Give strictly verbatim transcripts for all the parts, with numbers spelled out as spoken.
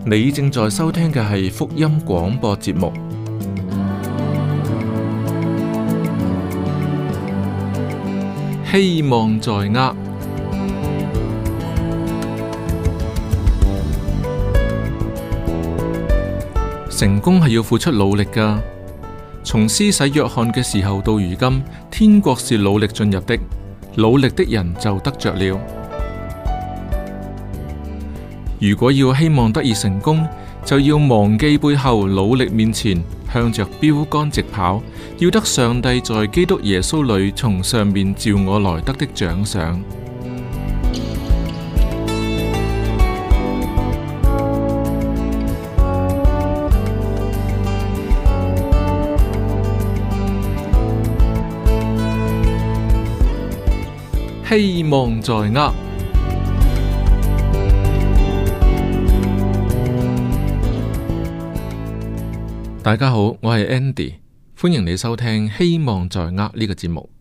你正在收聽嘅係福音廣播節目，希望在握。成功係要付出努力㗎。從施洗約翰嘅時候到如今，天國是努力進入的，努力的人就得着了。如果要希望得以成功，就要忘記背後，努力面前，向着標杆直跑，要得上帝在基督耶穌裏從上面召我來得的獎賞。希望在握。大家好，我係 Andy， 歡迎你收聽《希望在握》呢個節目。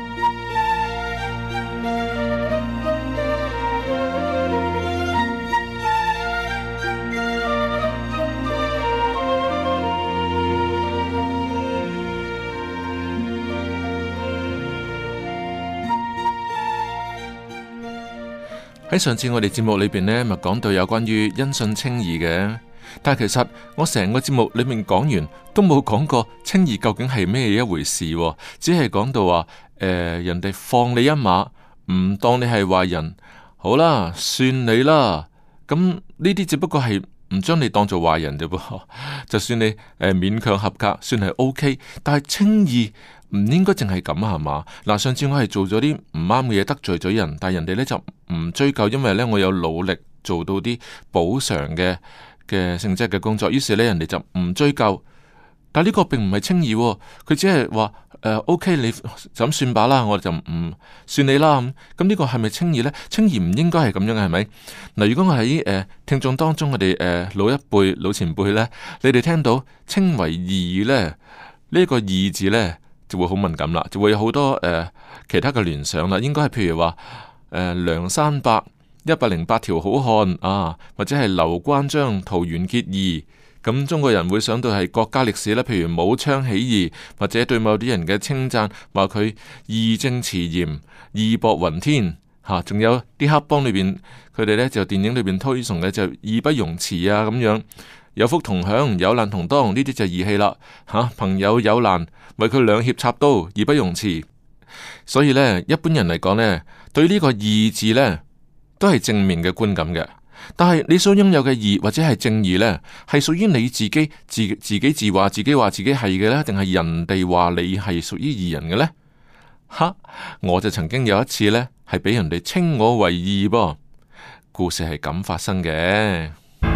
喺上次我哋節目裏邊呢，咪講到有關於因信稱義嘅。但係其實我成個節目裏面講完都冇講過稱義究竟係咩一回事，只係講到話誒、呃，人哋放你一馬，唔當你係壞人，好啦，算你啦。咁呢啲只不過係唔將你當做壞人啫噃，就算你誒、呃、勉強合格，算係 OK。但係稱義唔應該淨係咁係嘛？嗱，上次我係做咗啲唔啱嘅嘢，得罪咗人，但係人哋呢就唔追究，因為呢我有努力做到啲補償嘅。嘅性質嘅工作，於是呢，人哋就唔追究，但係呢個並唔係稱義，佢只係話誒 OK， 你就咁算吧啦，我哋就唔算你啦咁。咁呢個係咪稱義呢？稱義唔應該係咁樣嘅，係咪？嗱，如果我喺誒、呃、聽眾當中，我哋誒、呃、老一輩、老前輩呢，你哋聽到稱為義呢，呢、這個義字呢，就會好敏感啦，就會有好多誒、呃、其他嘅聯想啦。應該係譬如話誒、呃、梁山伯。一百零八條好漢啊，或者係劉關張桃園結義，咁中國人會想到係國家歷史啦，譬如武昌起義，或者對某啲人嘅稱讚，話佢義正辭嚴、義薄雲天吓，仲、啊、有啲黑幫裏邊，佢哋呢就電影裏邊推崇嘅就義不容辭啊，咁樣有福同享，有難同當，呢啲就義氣啦吓，朋友有難，為佢兩肋插刀，義不容辭。所以呢，一般人嚟講呢，對呢個義字呢，都係正面嘅觀感嘅，但係你所擁有嘅義或者係正義呢，係屬於你自己自自己自話自己話自己係嘅呢，定係人哋話你係屬於義人嘅呢？哈！我就曾經有一次呢，係俾人哋稱我為義噃。故事係咁發生嘅。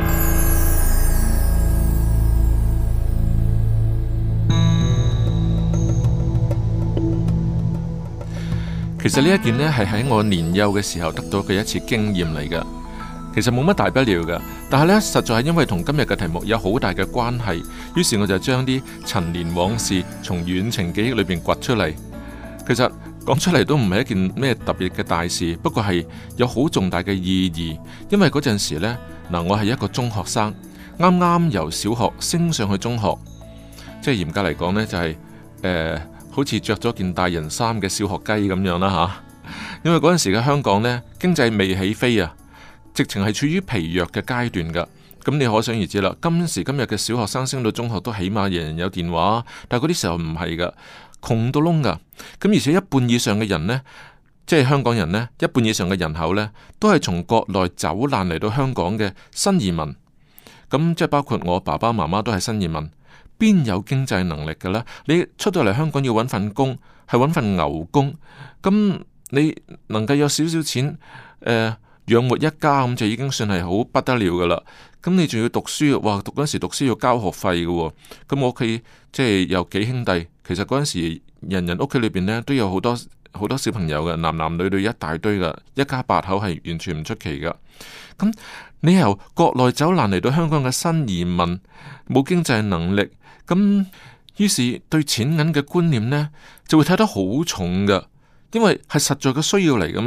其實呢一件呢，係喺我年幼嘅時候得到嘅一次經驗嚟㗎。其實冇乜大不了㗎，但係呢，實在係因為同今日嘅題目有好大嘅關係，於是我就將啲陳年往事從遠程記憶裏邊掘出嚟。其實講出嚟都唔係一件咩特別嘅大事，不過係有好重大嘅意義。因為嗰陣時呢，嗱，我係一個中學生，啱啱由小學升上去中學，即係嚴格嚟講呢，就係、是、誒。呃好似着咗件大人衫嘅小學雞咁樣啦吓，因為嗰陣時嘅香港呢，經濟未起飛啊，直情係處於疲弱嘅階段噶。咁你可想而知啦，今時今日嘅小學生升到中學都起碼人人有電話，但係嗰啲時候唔係噶，窮到窿噶。咁而且一半以上嘅人呢，即係香港人呢，一半以上嘅人口呢，都係從國內走難嚟到香港嘅新移民。咁即係包括我爸爸媽媽都係新移民。邊有經濟能力嘅呢？你出到嚟香港要揾份工，係揾份牛工，咁你能夠有少少錢，誒、呃、養活一家咁就已經算係好不得了噶啦。咁你仲要讀書，哇！讀嗰陣時讀書要交學費嘅，咁我屋企即係有幾兄弟，其實嗰陣時人人屋企裏邊呢都有好多好多小朋友嘅，男男女女一大堆噶，一家八口係完全唔出奇噶。咁你由國內走難嚟到香港嘅新移民，冇經濟能力。咁於是對錢銀嘅觀念呢，就會睇得好重噶，因為係實在嘅需要嚟噶嘛。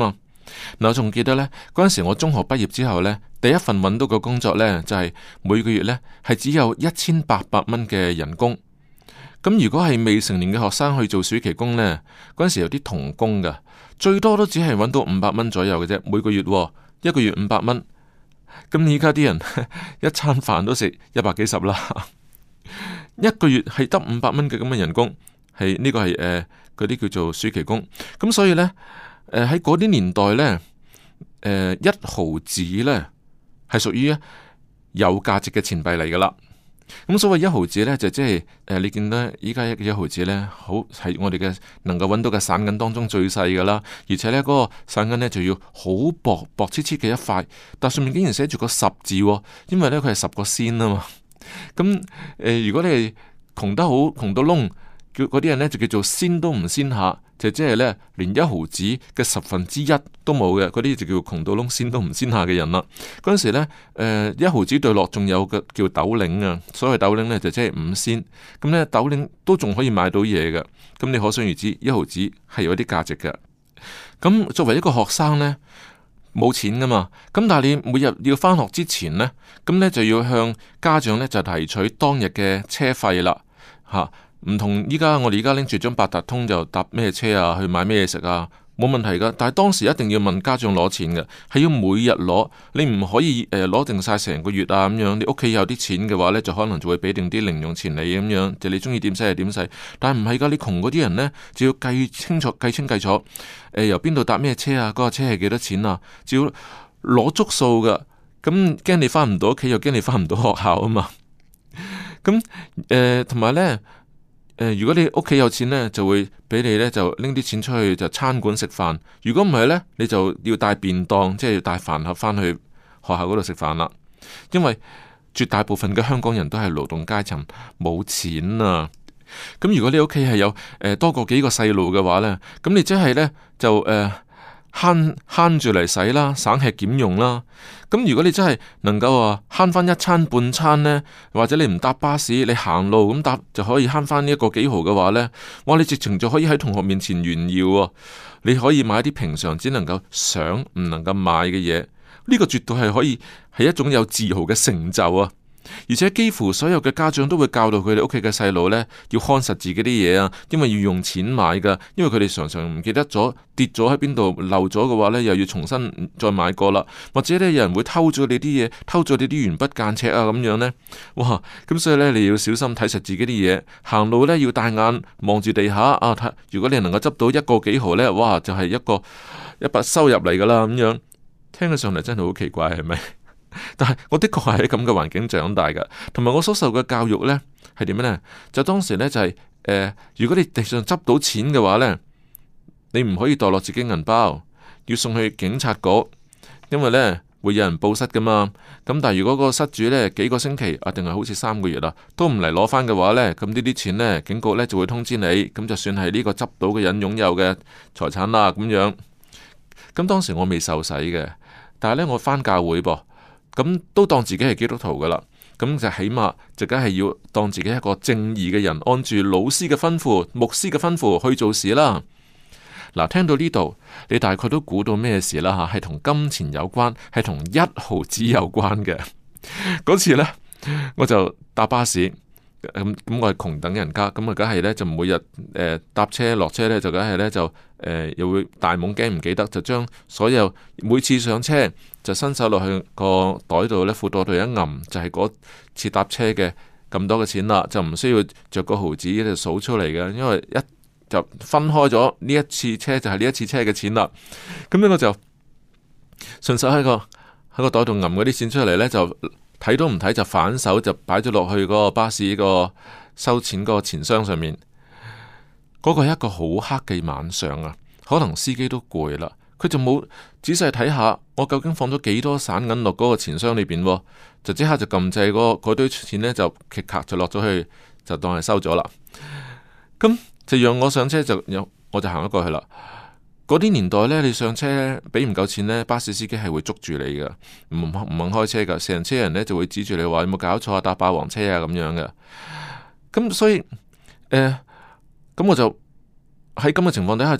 嗱，我仲記得呢，嗰陣時我中學畢業之後呢，第一份揾到嘅工作呢，就係每個月呢係只有一千八百蚊嘅人工。咁如果係未成年嘅學生去做暑期工呢，嗰陣時有啲童工噶，最多都只係揾到五百蚊左右嘅啫，每個月，一個月五百蚊。咁而家啲人一餐飯都食一百幾十啦，一個月係得五百蚊嘅咁嘅人工，係呢個係誒嗰啲叫做暑期工。咁所以呢，誒喺嗰啲年代呢，誒、呃、一毫子呢係屬於有價值嘅錢幣嚟噶啦。咁所謂一毫子呢，就即係誒，你見到依家一一毫子呢，好係我哋嘅能夠揾到嘅散銀當中最細噶啦，而且呢，嗰、那個散銀呢，就要好薄薄黐黐嘅一塊，但上面竟然寫住個十字，哦，因為呢，佢係十個仙啊嘛。咁誒、呃，如果你係窮得好，窮到窿，叫嗰啲人呢，就叫做仙都唔仙下，就即係呢，連一毫子嘅十分之一都冇嘅，嗰啲就叫窮到窿，仙都唔仙下嘅人啦。嗰陣時呢，誒、呃、一毫子對落仲有個叫斗零啊，所謂斗零呢，就即係五仙，咁呢，斗零都仲可以買到嘢嘅，咁你可想而知一毫子係有啲價值嘅。咁作為一個學生呢，冇錢噶嘛，咁但係你每日要返學之前呢，咁呢就要向家長呢就提取當日嘅車費啦，吓、啊。唔同依家，我哋依家拎住張八達通就搭咩車啊，去買咩嘢食啊，冇問題噶。但係當時一定要問家長攞錢嘅，係要每日攞，你唔可以誒攞、呃、定晒成個月啊咁樣。你屋企有啲錢嘅話呢，就可能就會俾定啲零用錢你咁樣，就你中意點使就點使。但係唔係噶，你窮嗰啲人呢，就要計清楚、計清計楚，誒、呃、由邊度搭咩車啊，嗰、那個車係幾多錢啊，就要攞足數噶。咁驚你翻唔到屋企，又驚你翻唔到學校啊嘛。咁誒同埋呢。呃、如果你屋企有錢呢，就會俾你呢，就拎啲錢出去就餐館食飯。如果唔係呢，你就要帶便當，即係要帶飯盒返去學校嗰度食飯啦。因為絕大部分嘅香港人都係勞動階層，冇錢啊。咁如果你屋企係有、呃、多過幾個細路嘅話呢，咁你即係呢，就誒。呃慳慳住嚟使啦，省吃儉用啦。咁如果你真係能夠話慳翻一餐半餐呢，或者你唔搭巴士，你行路咁搭就可以慳翻呢一個幾毫嘅話呢，哇！你直情就可以喺同學面前炫耀喎。你可以買啲平常只能夠想唔能夠買嘅嘢，呢個絕對係可以係一種有自豪嘅成就啊！而且幾乎所有嘅家長都會教導佢哋屋企嘅細路呢，要看實自己啲嘢啊，因為要用錢買噶，因為佢哋常常唔記得咗跌咗喺邊度漏咗嘅話呢，又要重新再買過啦，或者呢，有人會偷咗你啲嘢，偷咗你啲鉛筆間尺啊咁樣呢。哇！咁所以呢，你要小心睇實自己啲嘢，行路呢，要大眼望住地下啊，睇如果你能夠執到一個幾毫呢，哇，就係一個一筆收入嚟噶啦咁樣，聽起上嚟真係好奇怪，係咪？但係我的確係喺咁嘅環境長大噶，同埋我所受嘅教育呢係點樣呢？就當時呢，就係、是呃、如果你地上執到錢嘅話呢，你唔可以墮落自己銀包，要送去警察局，因為呢會有人報失噶嘛。咁但係如果個失主呢幾個星期啊，定係好似三個月啊，都唔嚟攞翻嘅話呢，咁呢啲錢呢，警局呢就會通知你，咁就算係呢個執到嘅人擁有嘅財產啦咁樣。咁當時我未受洗嘅，但係呢，我翻教會噃。咁都當自己係基督徒噶啦，咁就起碼就梗係要當自己一個正義嘅人，按住老師嘅吩咐、牧師嘅吩咐去做事啦。嗱，聽到呢度，你大概都估到咩事啦吓？係同金錢有關，係同一毫子有關嘅。嗰次呢，我就搭巴士。咁咁、嗯、我係窮等人家，咁啊梗係呢，就每日誒搭車落車呢，就梗係呢，就誒、呃、又會大懵驚唔記得，就將所有每次上車就伸手落去個袋度呢，褲袋度一揞，就係、是、嗰次搭車嘅咁多嘅錢啦，就唔需要着個毫子就數出嚟嘅，因為一就分開咗呢一次車就係呢一次車嘅錢啦。咁呢我就順手喺個喺個袋度揞嗰啲錢出嚟呢，就。睇都唔睇就反手就擺咗落去嗰個巴士個收錢嗰個錢箱上面。嗰個係一個好黑嘅晚上啊，可能司機都攰啦，佢就冇仔細睇下我究竟放咗幾多散銀落嗰個錢箱裏邊，就即刻就撳掣嗰嗰堆錢呢，就咔咔就落咗去，就當係收咗啦。咁就讓我上車就有，我就行咗過去啦。嗰啲年代呢，你上車俾唔夠錢呢，巴士司機係會捉住你噶，唔唔肯開車噶，成車人呢就會指住你話有冇搞錯啊，搭霸王車啊咁樣嘅。咁所以誒，咁、呃、我就喺咁嘅情況底下就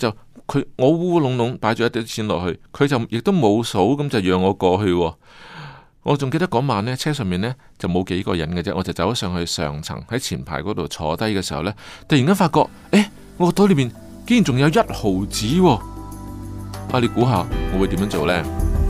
佢我烏烏窿窿擺咗一啲錢落去，佢就亦都冇數，咁就讓我過去。我仲記得嗰晚呢，車上面呢就冇幾個人嘅啫，我就走咗上去上層喺前排嗰度坐低嘅時候呢，突然間發覺，誒，我個袋裏面竟然仲有一毫子喎！啊，你估下我會點樣做呢？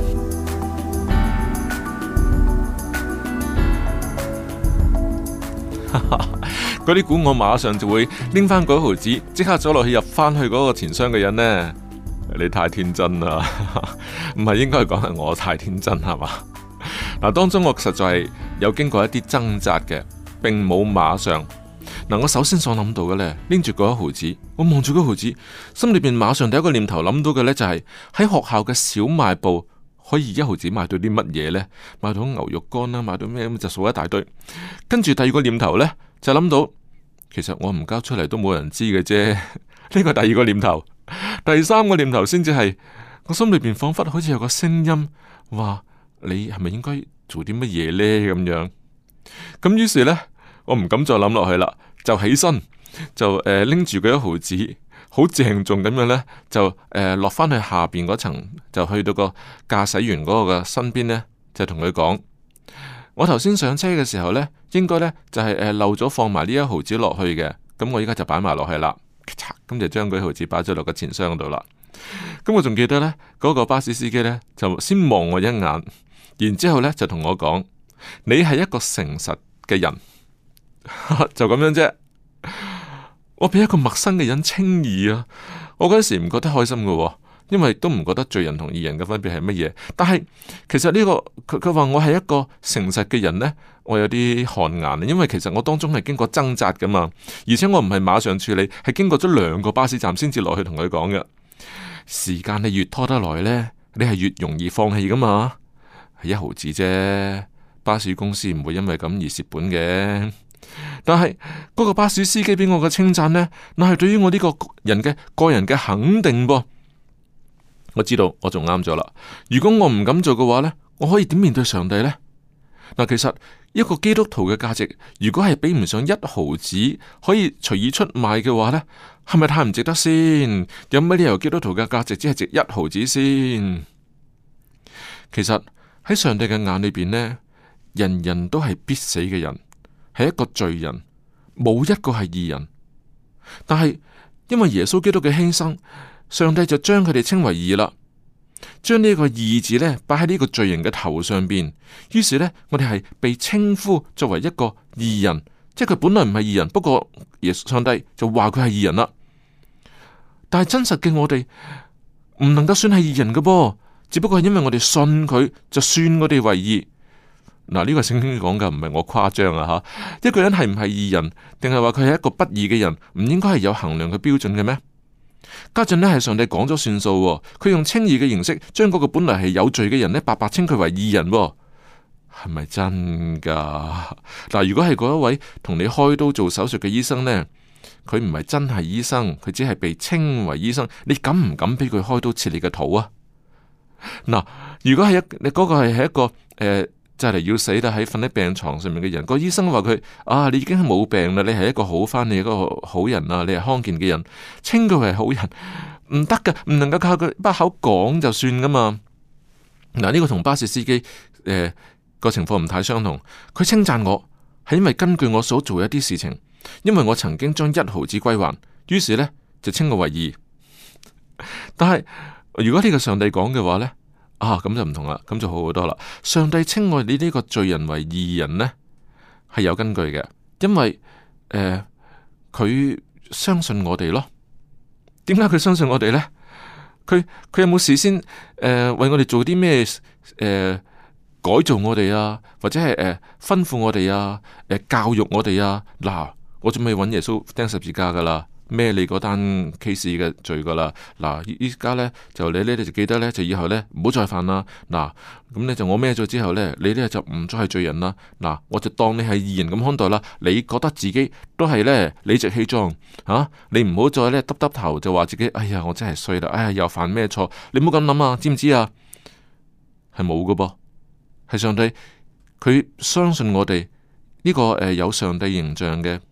嗰啲股我馬上就會拎翻嗰毫子，即刻走落去入翻去嗰個錢箱嘅人呢？你太天真啦，唔係應該講係我太天真係嘛？嗱，當中我實在係有經過一啲掙扎嘅，並冇馬上。嗱，我首先所諗到嘅呢，拎住嗰一毫子，我望住嗰毫子，心裏邊馬上第一個念頭諗到嘅呢，就係喺學校嘅小賣部可以一毫子買到啲乜嘢呢？買到牛肉乾啦，買到咩咁就數一大堆。跟住第二個念頭呢，就諗到，其實我唔交出嚟都冇人知嘅啫。呢個第二個念頭，第三個念頭先至係我心裏邊仿佛好似有個聲音話。你係咪應該做啲乜嘢呢？咁樣，咁於是呢，我唔敢再諗落去啦，就起身就誒拎住嗰一毫子，好鄭重咁樣呢，就誒落翻去下邊嗰層，就去到個駕駛員嗰個嘅身邊呢，就同佢講：我頭先上車嘅時候呢，應該呢就係誒漏咗放埋呢一毫子落去嘅，咁我依家就擺埋落去啦，咁就將嗰一毫子擺咗落個錢箱度啦。咁我仲記得呢，嗰個巴士司機呢，就先望我一眼。然之後咧就同我講：你係一個誠實嘅人，就咁樣啫。我俾一個陌生嘅人稱義啊！我嗰時唔覺得開心嘅，因為都唔覺得罪人同義人嘅分別係乜嘢。但係其實呢個佢佢話我係一個誠實嘅人呢，我有啲汗顏，因為其實我當中係經過掙扎噶嘛，而且我唔係馬上處理，係經過咗兩個巴士站先至落去同佢講嘅。時間你越拖得耐呢，你係越容易放棄噶嘛。係一毫子啫，巴士公司唔會因為咁而蝕本嘅。但係嗰個巴士司機俾我嘅稱讚呢，那係對於我呢個人嘅個人嘅肯定噃。我知道我仲啱咗啦。如果我唔敢做嘅話呢，我可以點面對上帝呢？嗱，其實一個基督徒嘅價值，如果係比唔上一毫子可以隨意出賣嘅話呢，係咪太唔值得先？有乜理由基督徒嘅價值只係值一毫子先？其實。喺上帝嘅眼裏邊呢，人人都係必死嘅人，係一個罪人，冇一個係義人。但係因為耶穌基督嘅犧牲，上帝就將佢哋稱為義啦，將呢個義字呢擺喺呢個罪人嘅頭上邊。於是呢，我哋係被稱呼作為一個義人，即係佢本來唔係義人，不過耶穌上帝就話佢係義人啦。但係真實嘅我哋唔能夠算係義人嘅噃。只不過係因為我哋信佢，就算我哋為義。嗱，呢個聖經講嘅唔係我誇張啊吓。一個人係唔係義人，定係話佢係一個不義嘅人，唔應該係有衡量嘅標準嘅咩？家陣呢係上帝講咗算數，佢用稱義嘅形式，將嗰個本來係有罪嘅人呢，白白稱佢為義人，係咪真噶？嗱，如果係嗰一位同你開刀做手術嘅醫生呢，佢唔係真係醫生，佢只係被稱為醫生，你敢唔敢俾佢開刀切你嘅肚啊？嗱，如果係一你嗰個係係一個誒、呃，就嚟要死啦，喺瞓喺病床上面嘅人，個醫生話佢啊，你已經係冇病啦，你係一個好翻，你係一個好人啊，你係康健嘅人，稱佢為好人，唔得噶，唔能夠靠佢把口講就算噶嘛。嗱，呢個同巴士司機誒個情況唔太相同，佢稱讚我係因為根據我所做一啲事情，因為我曾經將一毫子歸還，於是呢就稱我為義。但係如果呢個上帝講嘅話呢，啊咁就唔同啦，咁就好好多啦。上帝稱我哋呢個罪人為義人呢，係有根據嘅，因為誒佢、呃、相信我哋咯。點解佢相信我哋呢？佢佢有冇事先誒、呃、為我哋做啲咩誒改造我哋啊，或者係誒、呃、吩咐我哋啊，誒、呃、教育我哋啊？嗱，我準備揾耶穌釘十字架噶啦。孭你嗰單 case 嘅罪噶啦，嗱，依家呢，就你呢，你就記得呢，就以後呢，唔好再犯啦。嗱，咁呢，就我孭咗之後呢，你呢，就唔再係罪人啦。嗱，我就當你係義人咁看待啦。你覺得自己都係呢，理直氣壯吓，你唔好再呢，耷耷頭就話自己，哎呀，我真係衰啦，哎呀，又犯咩錯？你唔好咁諗啊，知唔知啊？係冇噶噃，係上帝佢相信我哋呢個誒有上帝形象嘅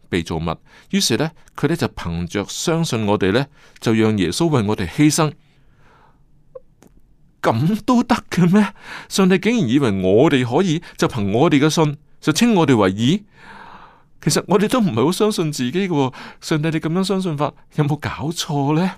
被造物。於是呢，佢呢就憑着相信我哋呢，就讓耶穌為我哋犧牲。咁都得嘅咩？上帝竟然以為我哋可以就憑我哋嘅信就稱我哋為義？其實我哋都唔係好相信自己嘅。上帝，你咁樣相信法有冇搞錯呢？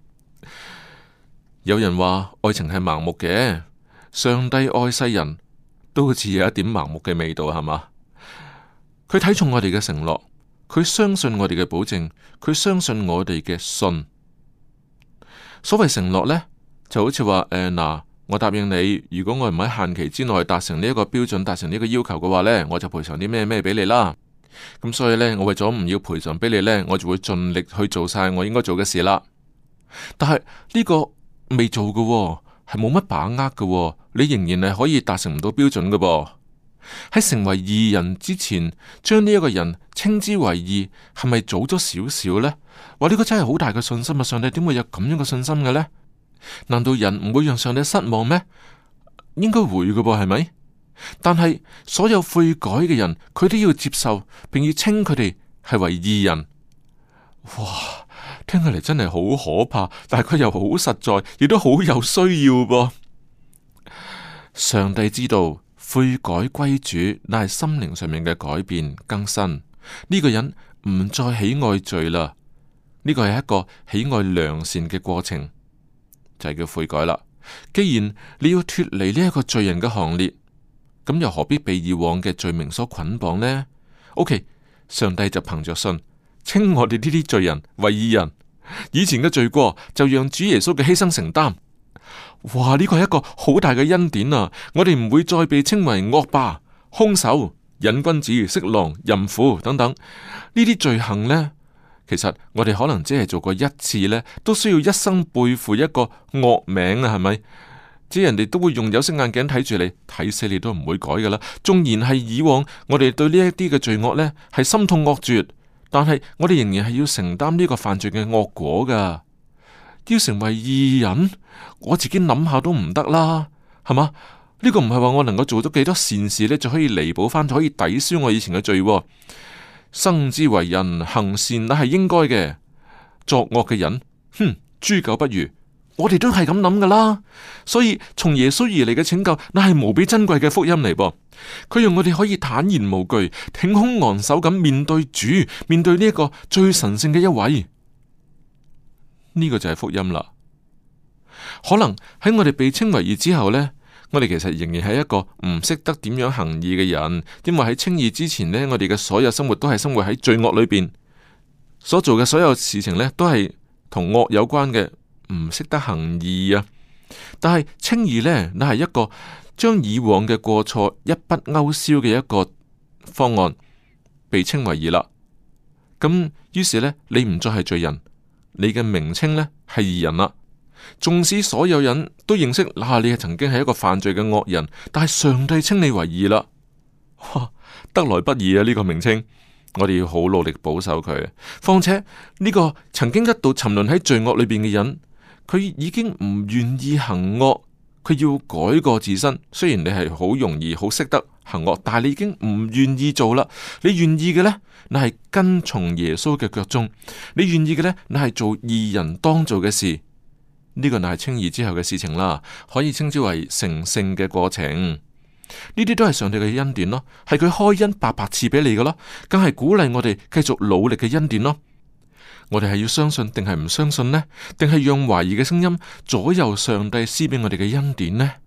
有人話愛情係盲目嘅，上帝愛世人都好似有一點盲目嘅味道，係嘛？佢睇重我哋嘅承諾，佢相信我哋嘅保證，佢相信我哋嘅信。所謂承諾呢，就好似話誒嗱，我答應你，如果我唔喺限期之內達成呢一個標準，達成呢個要求嘅話呢，我就賠償啲咩咩俾你啦。咁所以呢，我為咗唔要賠償俾你呢，我就會盡力去做晒我應該做嘅事啦。但係呢個未做嘅喎，係冇乜把握嘅喎，你仍然係可以達成唔到標準嘅噃。喺成為義人之前，將呢一個人稱之為義，係咪早咗少少呢？話呢個真係好大嘅信心啊！上帝點會有咁樣嘅信心嘅呢？難道人唔會讓上帝失望咩？應該會嘅噃，係咪？但係所有悔改嘅人，佢都要接受，並要稱佢哋係為義人。哇，聽起嚟真係好可怕，但係佢又好實在，亦都好有需要噃。上帝知道悔改歸主，乃係心靈上面嘅改變更新。呢個人唔再喜愛罪啦，呢個係一個喜愛良善嘅過程，就係叫悔改啦。既然你要脫離呢一個罪人嘅行列，咁又何必被以往嘅罪名所捆綁呢？ OK， 上帝就憑着信稱我哋呢啲罪人為義人，以前嘅罪過就讓主耶穌嘅犧牲承擔。哇！呢個係一個好大嘅恩典啊！我哋唔會再被稱為惡霸、兇手、癮君子、色狼、淫婦等等呢啲罪行呢。其實我哋可能只係做過一次呢，都需要一生背負一個惡名啊，係咪？即係人哋都會用有色眼鏡睇住你，睇死你都唔會改噶啦。縱然係以往我哋對呢一啲嘅罪惡呢係心痛惡絕，但係我哋仍然係要承擔呢個犯罪嘅惡果噶。要成為義人，我自己諗下都唔得啦，係嘛？呢個唔係話我能夠做到幾多善事呢，就可以彌補翻，就可以抵消我以前嘅罪。生之為人，行善那係應該嘅，作惡嘅人，哼，豬狗不如。我哋都係咁諗噶啦，所以從耶穌而嚟嘅拯救，那係無比珍貴嘅福音嚟噃。佢讓我哋可以坦然無懼、挺胸昂首咁面對主，面對呢一個最神聖嘅一位。呢個就係福音啦。可能喺我哋被稱為義之後呢，我哋其實仍然係一個唔識得點樣行義嘅人，因為喺稱義之前呢，我哋嘅所有生活都係生活喺罪惡裏邊，所做嘅所有事情呢，都係同惡有關嘅。唔識得行義啊！但係稱義呢，那係一個將以往嘅過錯一筆勾銷嘅一個方案，被稱為義啦。咁於是呢，你唔再係罪人，你嘅名稱呢係義人啦。縱使所有人都認識，嗱、啊，你係曾經係一個犯罪嘅惡人，但係上帝稱你為義啦。哇，得來不易啊！呢、這個名稱。我哋要好努力保守佢。況且呢、這個曾經一度沉淪喺罪惡裏邊嘅人，佢已經唔願意行惡，佢要改過自身。雖然你係好容易好識得行惡，但係你已經唔願意做啦。你願意嘅呢，你係跟從耶穌嘅腳蹤；你願意嘅呢，你係做義人當做嘅事。呢、這個乃係稱義之後嘅事情啦，可以稱之為成聖嘅過程。呢啲都係上帝嘅恩典咯，係佢開恩白白賜俾你嘅咯，更係鼓勵我哋繼續努力嘅恩典咯。我哋係要相信定係唔相信呢？定係讓懷疑嘅聲音左右上帝施俾我哋嘅恩典呢？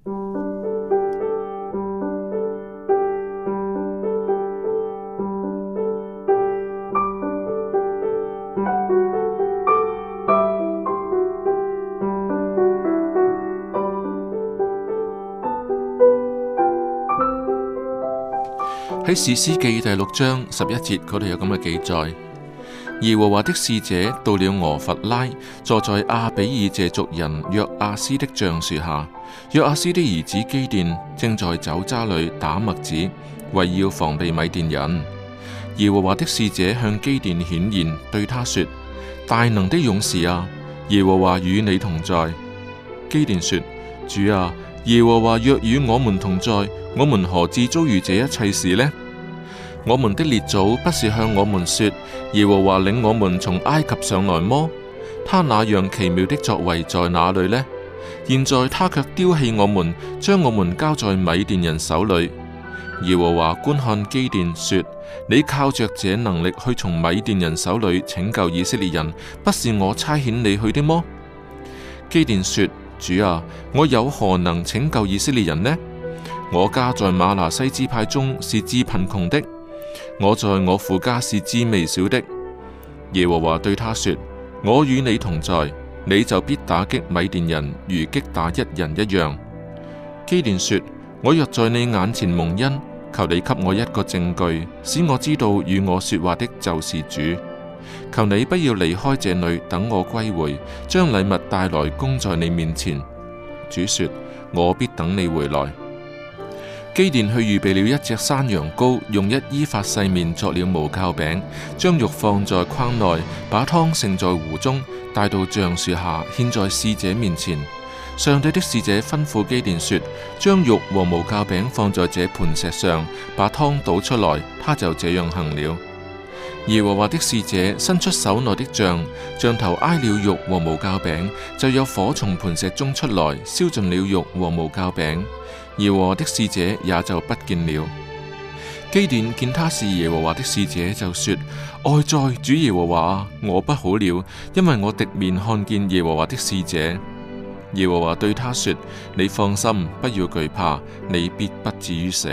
喺士師記第六章十一節嗰度有咁嘅記載。耶和華的使者到了俄弗拉，坐在亞比以謝族人約阿斯的橡樹下。約阿斯的兒子基甸正在酒渣裏打麥子，為要防備米甸人。耶和華的使者向基甸顯現，對他說：大能的勇士啊，耶和華與你同在。基甸說：主啊，耶和華若與我們同在，我們何至遭遇這一切事呢？ 我們的列祖不是向我們說，耶和華領我們從埃及上來麼？他那樣奇妙的作為在哪裏呢？現在他卻丟棄我們，將我們交在米甸人手裏。耶和華觀看基甸說：你靠着這能力去從米甸人手裏拯救以色列人，不是我差遣你去的麼？基甸說：主啊，我有何能拯救以色列人呢？我家在瑪拿西支派中是至貧窮的，我在我父家是至微小的。耶和華對他說：我與你同在，你就必打擊米甸人，如擊打一人一樣。基甸說：我若在你眼前蒙恩，求你給我一個證據，使我知道與我說話的就是主。求你不要離開這裏，等我歸回，將禮物帶來供在你面前。主說：我必等你回來。基甸去預備了一隻山羊羔，用一伊法細麵作了無酵餅，將肉放在筐內，把湯盛在壺中，帶到橡樹下，獻在使者面前。上帝的使者吩咐基甸說：將肉和無酵餅放在這磐石上，把湯倒出來。他就這樣行了。耶和華的使者伸出手內的杖，杖頭挨了肉和無酵餅，就有火從磐石中出來，燒盡了肉和無酵餅。耶和華的使者也就不見了。基甸見他是耶和華的使者，就說：哀哉，主耶和華，我不好了，因為我敵面看見耶和華的使者。耶和華對他說：你放心，不要懼怕，你必不至於死。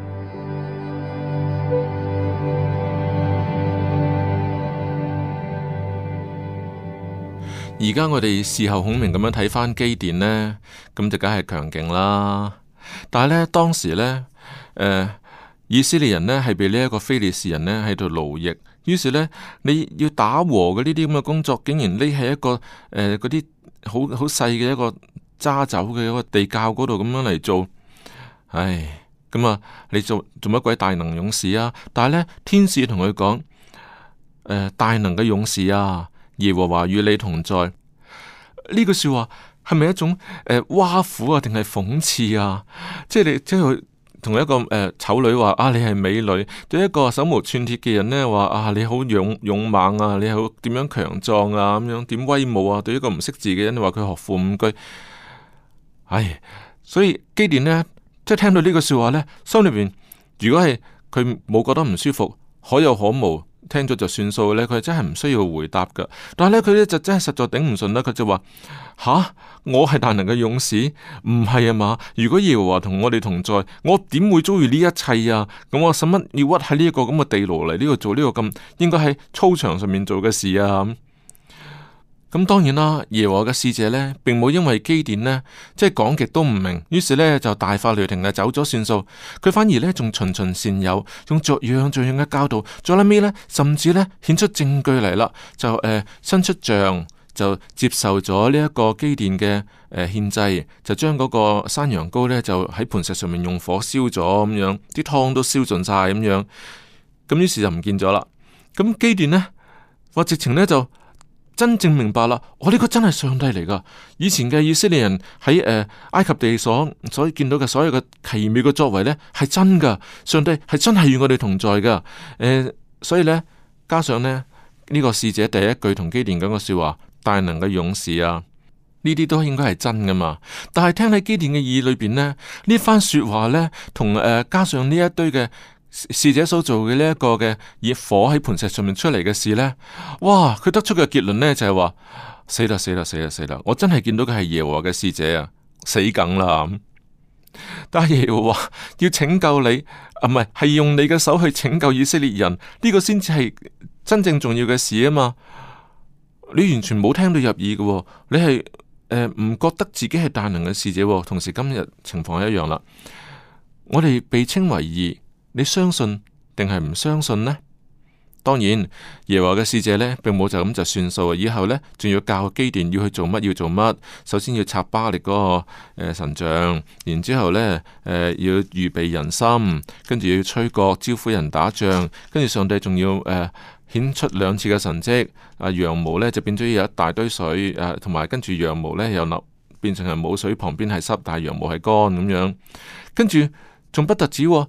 而家我哋事後孔明咁樣睇翻基甸呢，咁就梗係強勁啦。但係呢，當時呢，誒、呃，以色列人呢係被呢一個非利士人呢喺度奴役，於是呢，你要打和嘅呢啲咁嘅工作，竟然匿喺一個誒嗰啲好好細嘅一個揸酒嘅一個地窖嗰度咁樣嚟做，唉，咁啊，你做做乜鬼大能勇士啊？但係呢，天使同佢講，誒、呃，大能嘅勇士啊，耶和華與你同在。呢句說話係咪一種誒挖苦啊，定係諷刺啊？即係你即係同一個誒醜、呃、女話啊，你係美女；對一個手無寸鐵嘅人呢話啊，你好勇勇猛啊，你好點樣強壯啊，咁樣點威武啊？對一個唔識字嘅人，你話佢學富五車。唉，所以基甸呢，即係聽到呢句說話呢，心裏邊如果係佢冇覺得唔舒服，可有可無。聽咗就算數咧，佢真係唔需要回答噶。但係咧，佢咧就真係實在頂唔順啦。佢就話：吓，我係大能嘅勇士，唔係啊嘛？如果耶和華同我哋同在，我點會遭遇呢一切啊？咁我使乜要屈喺呢一個咁嘅地牢嚟呢度做呢個咁應該喺操場上面做嘅事啊？咁當然啦，耶和華嘅使者呢，並冇因為基甸呢，即係講極都唔明，於是呢，就大發雷霆啊，走咗算數。佢反而呢，仲循循善誘，用逐樣逐樣嘅教導，最後尾呢，甚至呢，顯出證據嚟啦，就誒、呃、伸出杖，就接受咗呢一個基甸嘅誒獻祭，就將嗰個山羊羔呢，就喺磐石上面用火燒咗咁樣，啲湯都燒盡晒咁樣。咁於是就唔見咗啦。咁基甸呢，話直情呢，就。真正明白啦，我呢個真係上帝嚟噶。以前嘅以色列人喺誒、呃、埃及地所所見到嘅所有嘅奇妙嘅作為呢，係真噶。上帝係真係與我哋同在噶。誒、呃，所以呢，加上呢，呢、呢個使者第一句同基甸講嘅說話，大能嘅勇士啊，呢啲都應該係真噶嘛。但係聽喺基甸嘅耳裏邊呢，呢番說話呢，同誒、呃、加上呢一堆嘅。使者所做嘅呢一個嘅以火喺磐石上面出嚟嘅事呢，哇！佢得出嘅結論呢，就係話死啦死啦死啦死啦！我真係見到嘅係耶和華嘅使者啊，死梗啦！但係耶和華要拯救你，啊唔係係用你嘅手去拯救以色列人，呢、這個先至係真正重要嘅事啊嘛！你完全冇聽到入耳嘅，你係誒唔覺得自己係大能嘅使者，同時今日情況係一樣啦。我哋被稱為義。你相信定係唔相信呢？當然，耶和華嘅使者呢，並冇就咁就算數。以後呢，仲要教基甸要去做乜，要做乜。首先要拆巴力嗰、那個誒、呃、神像，然之後呢，誒、呃、要預備人心，跟住要吹角招呼人打仗，跟住上帝仲要誒顯、呃、出兩次嘅神蹟。啊，羊毛呢就變咗有一大堆水，誒同埋跟住羊毛呢又流變成係冇水，旁邊係濕，但係羊毛係乾咁樣。跟住仲不特止、哦。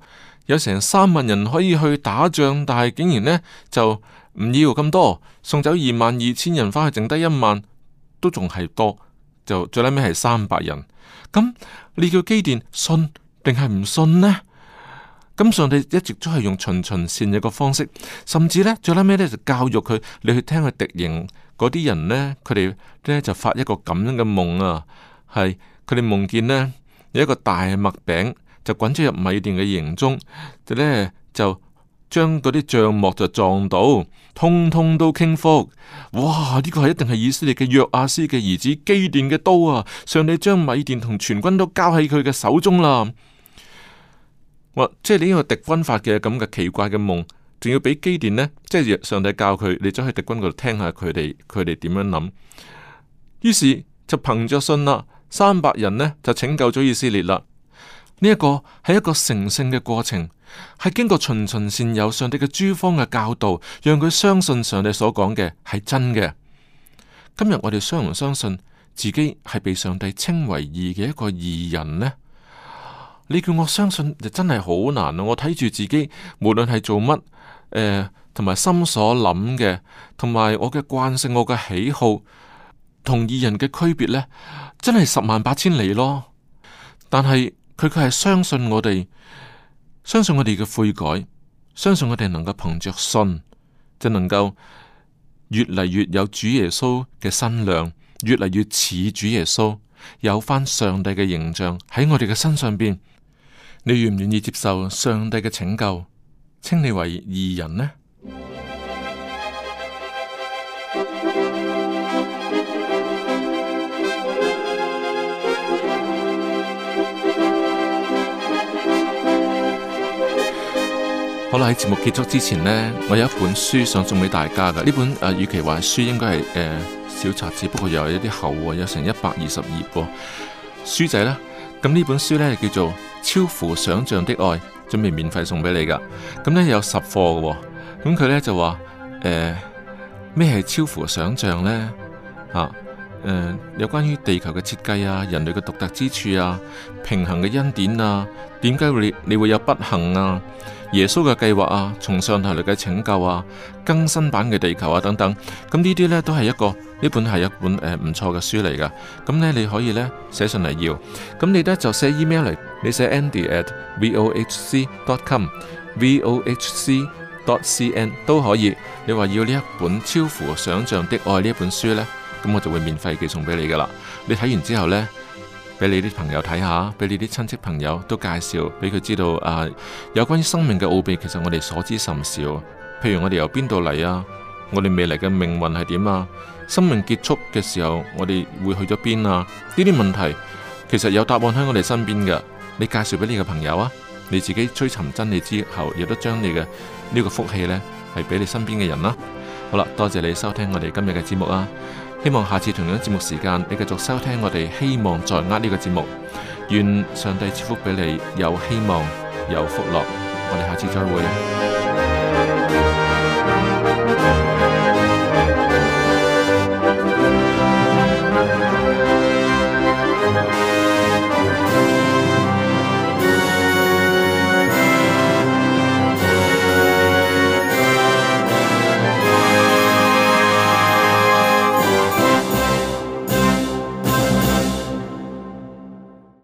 有成三萬人可以去打仗，但係竟然呢就唔要咁多，送走二萬二千人翻去，剩低一萬，都仲係多，就最尾係三百人。咁你叫基甸信定係唔信呢？咁上帝一直都係用循循善誘嘅方式，甚至呢，最尾呢就教育佢，你去聽佢敵營嗰啲人呢，佢哋呢就發一個咁樣嘅夢啊，係佢哋夢見呢，有一個大麥餅就滾咗入米甸嘅營中，就呢就將嗰啲帳幕就撞到，通通都傾覆。哇！呢個係一定係以色列嘅約阿斯嘅兒子基甸嘅刀啊！上帝將米甸同全軍都交喺佢嘅手中啦。哇！即係你呢個敵軍發嘅咁嘅奇怪嘅夢，仲要俾基甸呢？即係上帝教佢，你走去敵軍嗰度聽下佢哋，佢哋點樣諗。於是就憑着信啦，三百人呢就拯救咗以色列啦。呢一個係一個成聖嘅過程，係經過循循善誘上帝嘅諸方嘅教導，讓佢相信上帝所講嘅係真嘅。今日我哋相唔相信自己係被上帝稱為義嘅一個義人呢？你叫我相信就真係好難啊！我睇住自己，無論係做乜，誒、呃，同埋心所諗嘅，同埋我嘅慣性、我嘅喜好，同義人嘅區別呢，真係十萬八千里咯。但係佢佢係相信我哋，相信我哋嘅悔改，相信我哋能夠憑着信，就能夠越嚟越有主耶穌嘅身量，越嚟越似主耶穌，有翻上帝嘅形象喺我哋嘅身上邊。你願唔願意接受上帝嘅拯救，稱你為義人呢？好啦，喺節目結束之前呢，我有一本書想送俾大家㗎。呢本誒，與其話係書，應該係誒、呃、小冊子，不過又有一啲厚喎，有成一百二十頁喎。書仔啦，咁呢本書呢叫做《超乎想象的愛》，準備免費送俾你噶。咁呢有十課嘅，咁佢呢就話誒咩係超乎想象呢？啊誒、呃、有關於地球嘅設計啊，人類嘅獨特之處啊，平衡嘅恩典啊，點解會你會有不幸啊？耶穌嘅計劃啊，從上頭嚟嘅拯救啊，更新版嘅地球啊等等，咁呢啲呢都係一個呢本係一本誒唔錯嘅書嚟噶。咁呢你可以呢寫信嚟要，咁你呢就寫 email 嚟，你寫 Andy at vohc dot com，vohc dot cn 都可以。你話要呢一本超乎想象的愛呢一本書呢，咁我就會免費寄送俾你噶啦。你睇完之後呢，俾你啲朋友睇下，俾你啲親戚朋友都介紹俾佢知道啊，有關於生命嘅奧秘，其實我哋所知甚少。譬如我哋由邊度嚟啊，我哋未來嘅命運係點啊，生命結束嘅時候我哋會去咗邊啊？呢啲問題其實有答案喺我哋身邊嘅。你介紹俾你嘅朋友啊，你自己追尋真理之後，亦都將你嘅呢個福氣呢係俾你身邊嘅人啦。好啦，多謝你收聽我哋今日嘅節目啊！希望下次同樣節目時間，你繼續收聽我哋希望在握呢個節目。願上帝賜福俾你，有希望，有福樂。我哋下次再會。